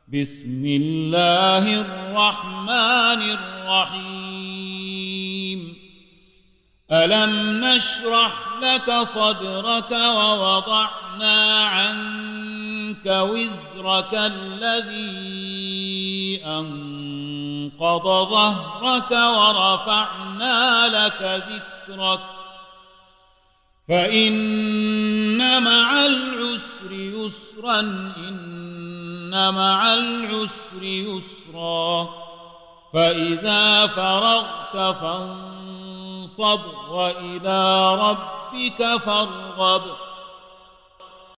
بسم الله الرحمن الرحيم ألم نشرح لك صدرك ووضعنا عنك وزرك الذي أنقض ظهرك ورفعنا لك ذكرك فإن مع العسر يسرا إن مع العسر يسرا فإذا فرغت فانصب وإلى ربك فارغب